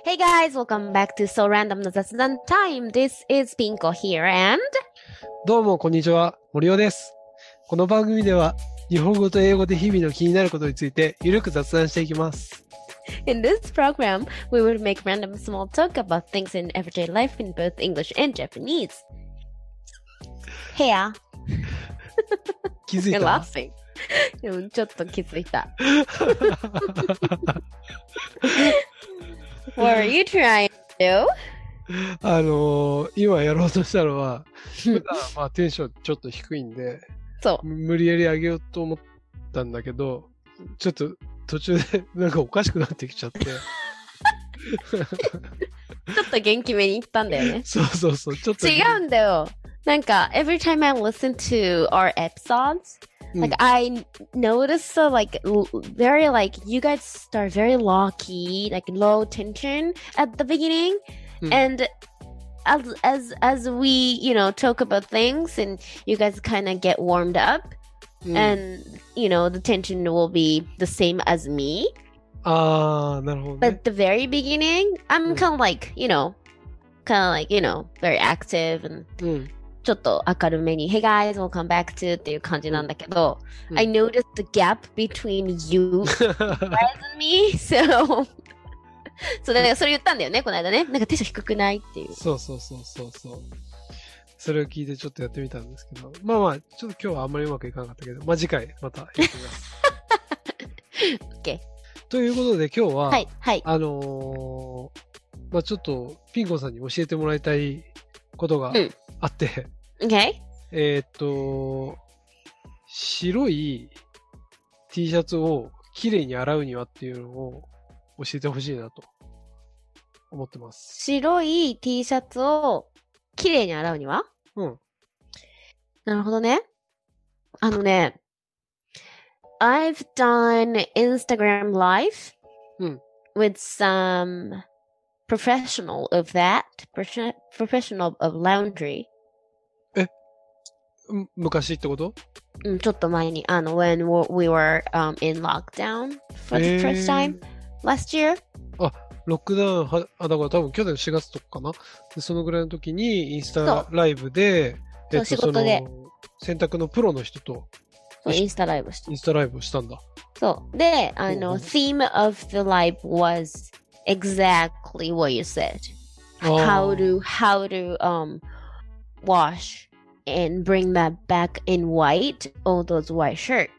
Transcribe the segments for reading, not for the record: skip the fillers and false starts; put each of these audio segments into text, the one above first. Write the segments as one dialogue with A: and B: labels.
A: Hey guys, welcome back to So Random の雑談 Time. This is Pinko here and
B: どうも、こんにちは。森尾です。この番組では、日本語と英語で日々の気になることについて、ゆるく雑談していきます。
A: in this program, we will make random small talk about things in everyday life in both English and Japanese. Here.
B: 気づい
A: You're
B: た
A: laughing. うんちょっと気づいた。What are you trying to do?
B: 今やろうとしたのは、普段テンションちょっと低いんで、
A: そう。
B: 無理やり上げようと思ったんだけど、ちょっと途中でなんかおかしくなってきちゃって。
A: ちょっと元気めに言ったんだよね。
B: そう、ちょっと。
A: 違うんだよ。なんか、every time I listen to our episodes, like I notice very like you guys start very low key, like low tension at the beginning, and as we talk about things and you guys kind of get warmed up, and the tension will be the same as me.
B: なるほど、ね。
A: But at the very beginning, I'm kind of like very active and ちょっと明るめに Hey guys, welcome back to っていう感じなんだけど、I noticed the gap between you guys and me, so そうだからそれ言ったんだよね、この間ね。なんかテンション低くないっていう。
B: そう。それを聞いてちょっとやってみたんですけど、ちょっと今日はあんまりうまくいかなかったけど、次回またやってみます。
A: OK。
B: ということで今日は、
A: はい。
B: ちょっとピンコさんに教えてもらいたいことがあって、
A: OK。
B: 白い T シャツをきれいに洗うにはっていうのを教えてほしいなと思ってます。
A: 白い T シャツをきれいに洗うには？なるほどね。I've done Instagram Live with some professional of that, professional of laundry.
B: 昔ってこと？
A: ちょっと前に、when we were in lockdown for the first time last year.
B: ロックダウンだから多分去年4月とかかな。でそのぐらいの時にインスタライブで、
A: 仕事で
B: 洗濯のプロの人と
A: インスタライブ
B: をしたんだ。
A: そう。で、theme of the live was exactly what you said. How to wash and bring that back in white, all those white shirt.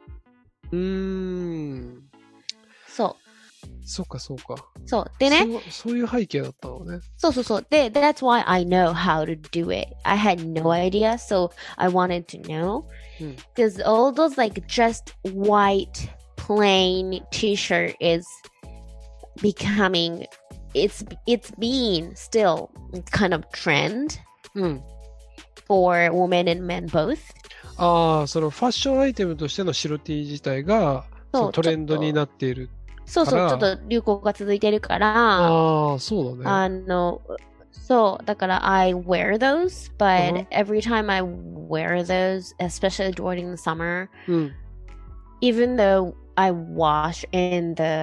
B: そうか。
A: そう。でね。
B: そういう背景だったのね。
A: そう。で、that's why I know how to do it. I had no idea, so I wanted to know. Because all those like just white, plain t-shirt is becoming, it's being still kind of trend for women and men both.
B: そのファッションアイテムとしての白 T 自体がトレンドになっている。
A: そう、ちょっと流行が続いてるから、
B: そうだね。
A: そう、だから I wear those, but every time I wear those, especially during the summer, even though I wash in the,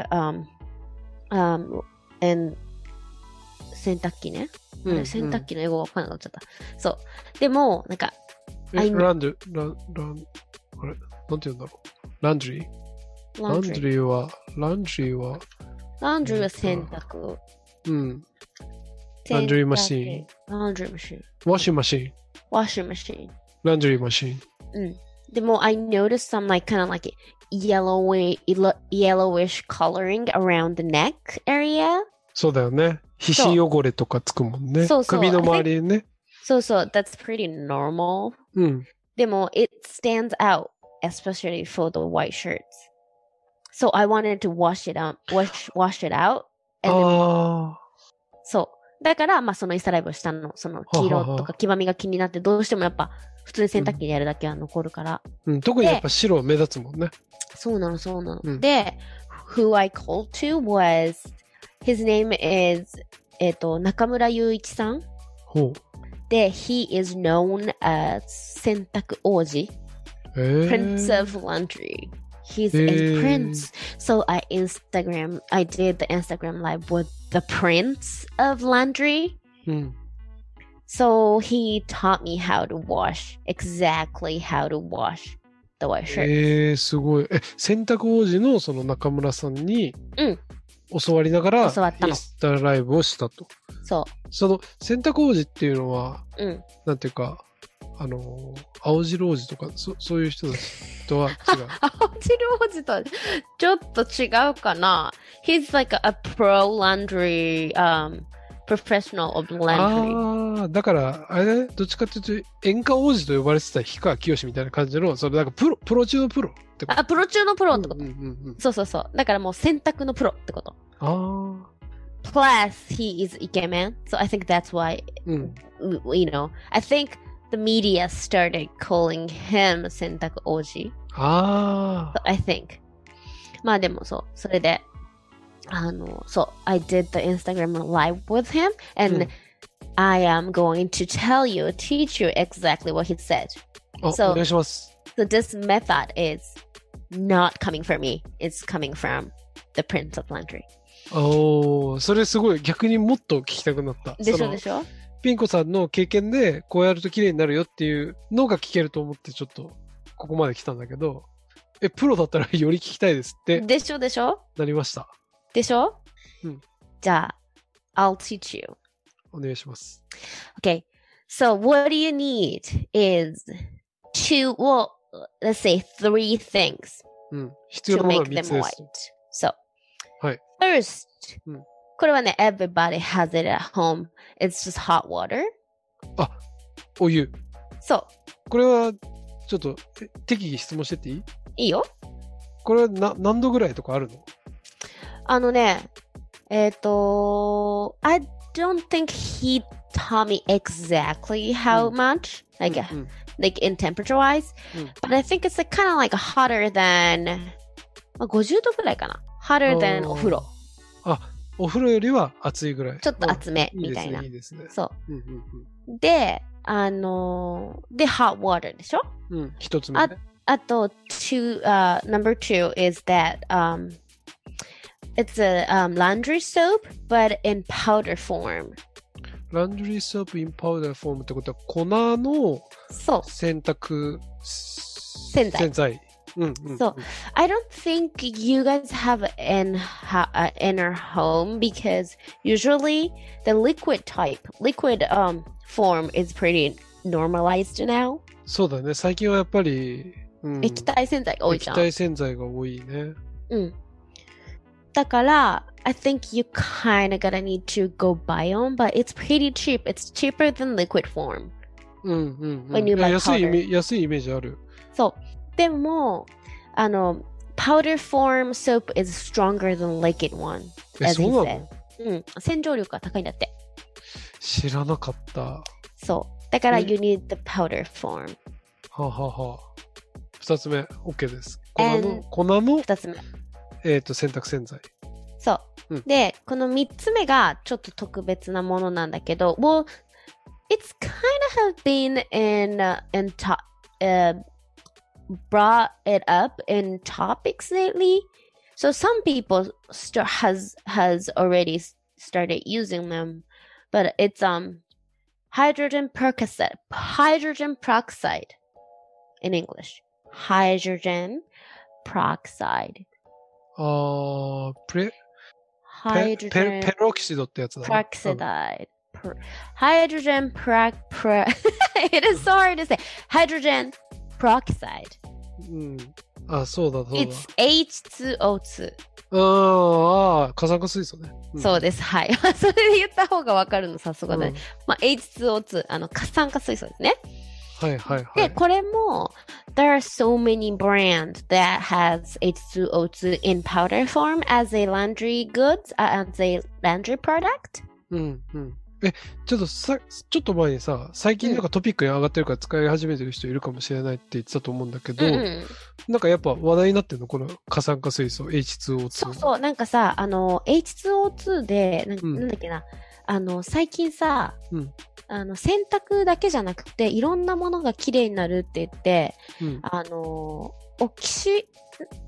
A: in 洗濯機ね。洗濯機の英語がわかんなくなっちゃった。そう。でも、なんか、
B: あれなんて言うんだろう。ランドリーは
A: 洗濯。
B: ランドリーマシーン。ワッシングマシーン。ランドリーマシーン。
A: でも、I noticed some like kind of like yellowish coloring around the neck area.
B: そうだよね。皮脂汚れとかつくもんね。首の周りにね。
A: そう。That's pretty normal. でも、it stands out, especially for the white shirts. So I wanted to wash it out. And then, そう。だから、そのインスタライブをしたの。その黄色とか黄ばみが気になって、どうしてもやっぱ、普通に洗濯機でやるだけは残るから。
B: 特にやっぱ白目立つもんね。
A: そうなの。で、who I called to was, his name is, 中村雄一さん。で、he is known as 洗濯王子。Prince of Laundry. He's a prince. So I did the Instagram live with the prince of laundry.
B: うん。
A: So he taught me exactly how to wash the white shirt.
B: すごい。洗濯王子のその中村さんに
A: うん
B: 教わりながら、
A: 教わったの
B: インスタライブをしたと。
A: そ
B: その洗濯王子っていうのは、
A: う。うん。
B: なんていうか、青白王子とか、そういう人たちとは違う。
A: 青汁王子とはちょっと違うかな。He's like a pro laundry, professional of laundry.
B: ああ、だから、あれだね、どっちかっていうと、演歌王子と呼ばれてた氷川きよしみたいな感じの、それなんかプロ中のプロってこと。
A: プロ中のプロってこと。
B: うんうんうんうん、
A: そうそうそう。だからもう洗濯のプロってこと。
B: ああ。
A: Plus, he is イケメン。So I think that's why,
B: うん、
A: I think the media started calling him 洗濯王子。
B: ああ。
A: So I think. まあでもそう。それで、そう、I did the Instagram live with him, and、I am going to teach you exactly what he said.
B: お願いします。
A: So this method is not coming from me. It's coming from the Prince of Laundry.
B: それすごい逆にもっと聞きたくなった。
A: でしょ
B: ピン子さんの経験でこうやると綺麗になるよっていうのが聞けると思ってちょっとここまで来たんだけど、プロだったらより聞きたいですって。
A: でしょ
B: なりました。
A: でしょ、
B: うん、
A: じゃあ、I'll teach you.
B: お願いします。
A: Okay, so what you need is let's say three things、
B: 必要なものは3つです。
A: So,
B: はい。
A: First、これはね、everybody has it at home. It's just hot water.
B: あ、お湯。
A: そう。
B: これは、ちょっと、適宜質問してっていい？
A: いいよ。
B: これは何度ぐらいとかあるの？
A: I don't think he taught me exactly how much, like in temperature wise, but I think it's kind of like hotter than 50度ぐらいかな。hotter than お風呂。
B: あ、お風呂よりは暑いぐらい。
A: ちょっと熱めみたいな。
B: いいですね。
A: そう。で、hot water でしょ？
B: 一つ目ね。
A: あと、number two is that, it's a laundry soap, but in powder form.
B: Laundry soap in powder form ってことは粉の洗濯洗剤。
A: So, I don't think you guys have in our home because usually the liquid form is pretty normalized now.
B: そうだね。最近はやっぱり、
A: 液体洗剤が多いじゃん。
B: 液体洗剤が多いね。
A: だから、I think you kind of gonna need to go buy them, but it's pretty cheap. It's cheaper than liquid form. When you buy powder.
B: 安いイメージある。
A: そう。でも、powder form soap is stronger than liquid one.
B: そうなの？
A: 洗浄力が高いんだって。
B: 知らなかった。
A: そう。だから、you need the powder form.
B: ははは。二つ目、OK です。粉の
A: 二つ目。
B: 洗濯洗剤。
A: そう。で、この三つ目がちょっと特別なものなんだけど、well, it's kind of have been brought it up in topics lately. So some people has already started using them, but it's hydrogen peroxide in English. Hydrogen peroxide.
B: ペロキシドってやつだね。
A: peroxide. Hydrogen it is so hard to say. Hydrogen peroxide.
B: そうだ。
A: It's H2O2.
B: 過酸化水素ね。
A: そうです。はい。それで言った方がわかるの、さすがだね。H2O2、過酸化水素ですね。
B: はいはいはい。
A: で、これも、there are so many brands that has H2O2 in powder form as a laundry goods, as a laundry product.
B: ちょっと前にさ、最近なんかトピックに上がってるから使い始めてる人いるかもしれないって言ってたと思うんだけど、なんかやっぱ話題になってるのこの過酸化水素 H2O2。
A: そう、なんかさ、H2O2 で、なんだっけな、最近さ、洗濯だけじゃなくて、いろんなものがきれいになるって言って、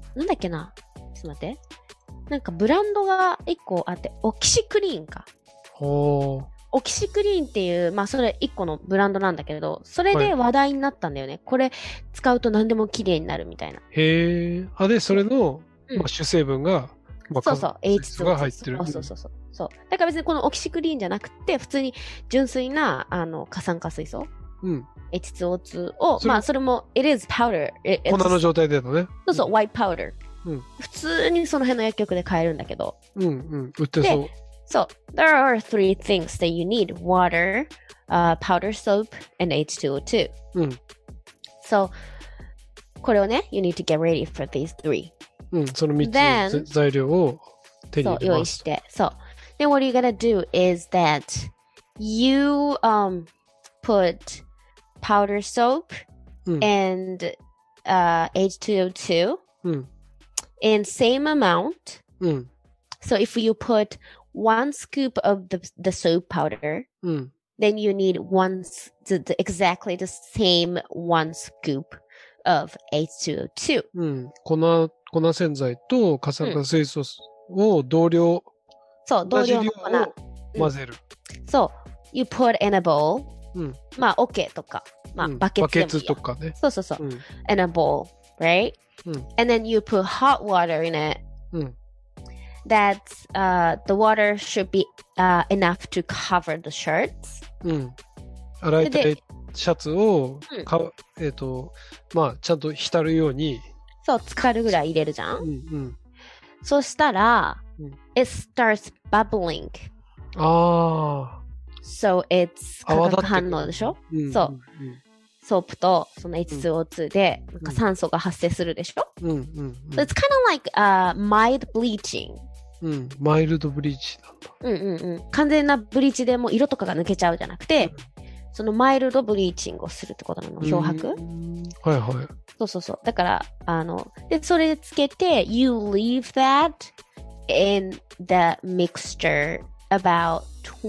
A: なんだっけな。ちょっと待って。なんかブランドが1個あって、オキシクリーンか。
B: ほ
A: オキシクリーンっていう、まあそれ1個のブランドなんだけれど、それで話題になったんだよね。これ使うと何でも綺麗になるみたいな。
B: へえ。あ、で、それの、まあ、主成分が、まあ、
A: そうそう、
B: H2 が入ってる。
A: そう。だから別にこのオキシクリーンじゃなくて、普通に純粋な、過酸化水素。H2O2 を、まあそれも、it is powder。
B: 粉の状態でだね。
A: そう、white powder。普通にその辺の薬局で買えるんだけど。
B: 売ってそう。
A: So, there are three things that you need. Water, powder soap, and H2O2. So, これをね、you need to get ready for these three.
B: その3つの材料を手に入れます。
A: そう、用意して。そう。Then what you're gonna do is that you put powder soap and H2O2 in same amount. So if you put one scoop of the soap powder, then you need exactly the same one scoop of H2O2.
B: 粉洗剤と過酸化水素を同量の粉を混ぜる。
A: そう。You put in a bowl. まあ、OK とか、まあ、バケツ
B: とかね。
A: そう。in a bowl, right? And then you put hot water in it. That's, the water should be enough to cover the shirts.
B: 洗いたいシャツを、まあ、ちゃんと浸るように。
A: そう、浸かるぐらい入れるじゃん。そしたら、it starts bubbling. So it's 化学反応でしょ？そう。ソープとその H2O2 でなんか酸素が発生するでしょ？So it's kind of like mild bleaching.
B: マイルドブリーチなんだ。
A: 完全なブリーチでもう色とかが抜けちゃうじゃなくて、そのマイルドブリーチングをするってことなの、漂白。
B: はいはい。
A: そう。だから、で、それつけて、you leave that in the mixture about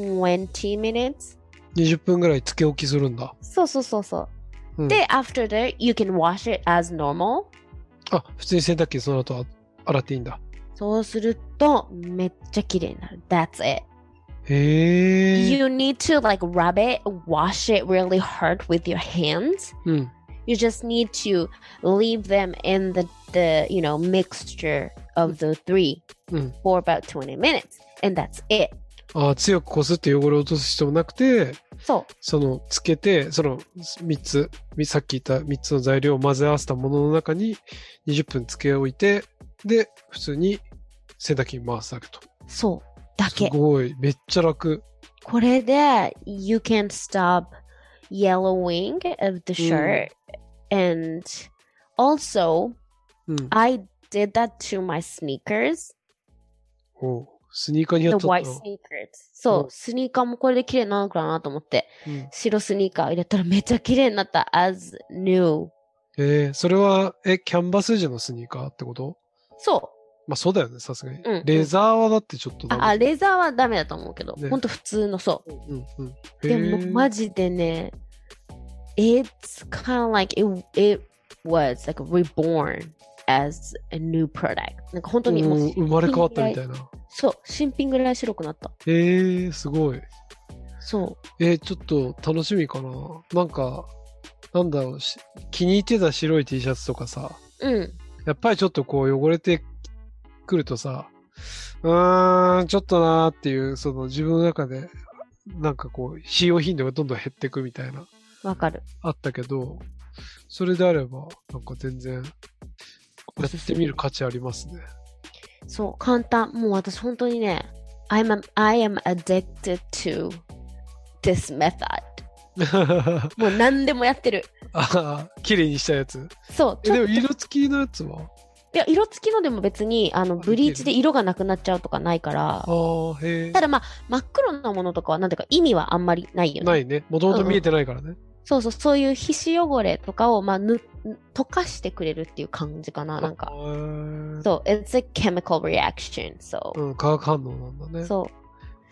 A: 20 minutes.
B: 20分ぐらいつけ置きするんだ。
A: そう。で、after that, you can wash it as normal.
B: あ、普通に洗濯機その後洗っていいんだ。
A: そうすると、めっちゃ綺麗になる。That's it.
B: へー。
A: You need to like rub it, wash it really hard with your hands. You just need to leave them in the mixture of the three for about 20 minutes. And that's it.
B: 強くこすって汚れを落とす必要もなくて、
A: そ
B: のつけて、その3つ、さっき言った3つの材料を混ぜ合わせたものの中に20分つけ置いて、で、普通に洗濯機に回すだけと。
A: そう。だけ。
B: すごい。めっちゃ楽。
A: これで、you can stop yellowing of the shirt. And also, I did that to my sneakers.
B: スニーカーにやっちゃったの？
A: The white sneakers. そう、スニーカーもこれで綺麗になるのかなと思って、白スニーカー入れたらめっちゃ綺麗になった。as new.
B: それは、キャンバス地のスニーカーってこと？
A: そう。
B: まあそうだよね、さすがに。レザーはだってちょっとダメ。
A: レザーはダメだと思うけど、ほんと普通のそう。でもマジでね、it's kind of like it was like reborn as a new product. なんか本当にもう
B: 生まれ変わったみたいな。
A: そう、新品ぐらい白くなった。
B: すごい。
A: そう。
B: ちょっと楽しみかな。なんか、なんだろう、気に入ってた白い T シャツとかさ、やっぱりちょっとこう汚れてくるとさ、ちょっとなーっていう、その自分の中で、なんかこう、使用頻度がどんどん減っていくみたいな。
A: わかる。
B: あったけど、それであれば、なんか全然、やってみる価値ありますね。
A: そう、簡単。もう私本当にね、I am addicted to this method. もう何でもやってる。
B: 綺麗にしたやつ。
A: そう。
B: でも色付きのやつは？
A: いや、色付きのでも別に、ブリーチで色がなくなっちゃうとかないから。ただまあ、真っ黒なものとかは、なんていうか意味はあんまりないよね。
B: ないね。もともと見えてないからね。
A: そういう皮脂汚れとかを、まあ、溶かしてくれるっていう感じかな、なんか。そう、it's a chemical reaction, so.
B: 化学反応なんだね。
A: そう。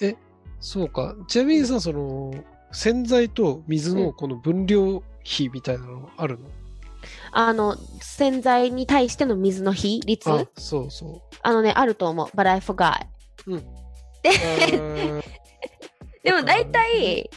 B: そうか。ちなみにさ、その、洗剤と水のこの分量比みたいなのあるの？
A: 洗剤に対しての水の比率
B: あ、そうそ
A: あると思う。But I forgot.
B: う。うん。
A: で、でも大体、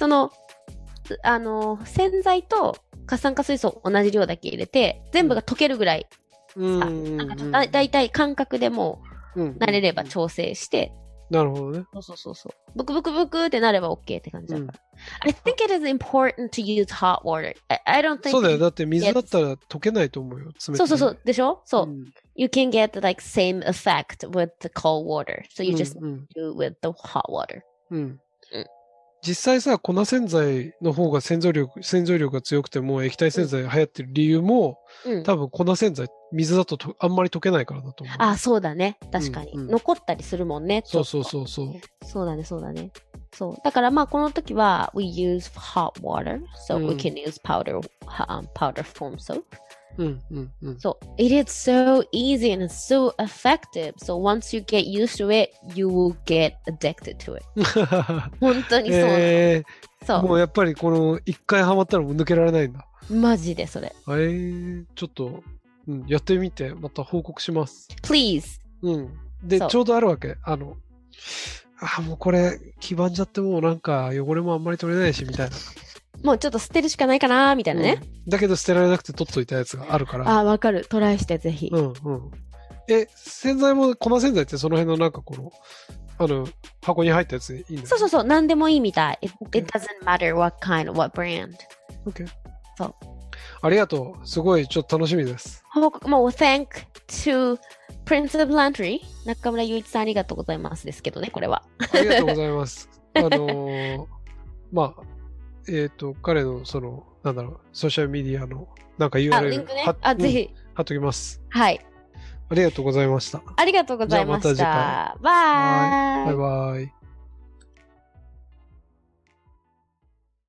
A: 洗剤と過酸化水素同じ量だけ入れて、全部が溶けるぐらいだいたい感覚でもう慣れれば調整して、
B: なるほどね。
A: そう。ブクブクブクってなれば OK って感じだから。I think it is important to use hot water. I don't think
B: そうだよ。だって水だったら溶けないと思うよ。冷たい。
A: そう。でしょそう。You can get like same effect with the cold water. So you just do with the hot water.
B: 実際さ、粉洗剤の方が洗浄力が強くても液体洗剤が流行ってる理由も、多分粉洗剤、水だとあんまり溶けないからだと思う。
A: あ、そうだね。確かに。残ったりするもんね。
B: そう。
A: そうだね。そう。だからまあこの時は、we use hot water, so we can use powder foam soap. So it is so easy and it's so effective. So once you get used to it, you will get addicted to it. 本当にそうなの。そう。
B: もうやっぱりこの一回ハマったらもう抜けられないんだ。
A: マジでそれ。
B: ちょっと、やってみてまた報告します。
A: Please.
B: で、ちょうどあるわけ。もうこれ黄ばんじゃってもうなんか汚れもあんまり取れないしみたいな。
A: もうちょっと捨てるしかないかなみたいなね、
B: だけど捨てられなくて取っといたやつがあるから。
A: あ、わかる。トライしてぜひ。
B: 洗剤も粉洗剤ってその辺のなんかこの箱に入ったやつでいいんだよ。
A: そう。何でもいいみたい。It doesn't matter what kind, what brand.
B: OK。
A: そう。
B: ありがとう。すごいちょっと楽しみです。もう
A: Thank to Prince of Laundry 中村雄一さんありがとうございますですけどね、これは。
B: ありがとうございます。まあ。彼のなんだろう、ソーシャルメディアのなんか URL
A: リンクね。ぜひ。
B: 貼っときます。
A: はい。
B: ありがとうございました。
A: ありがとうございました。
B: じゃあまた次回。
A: バイ。
B: バイバイ。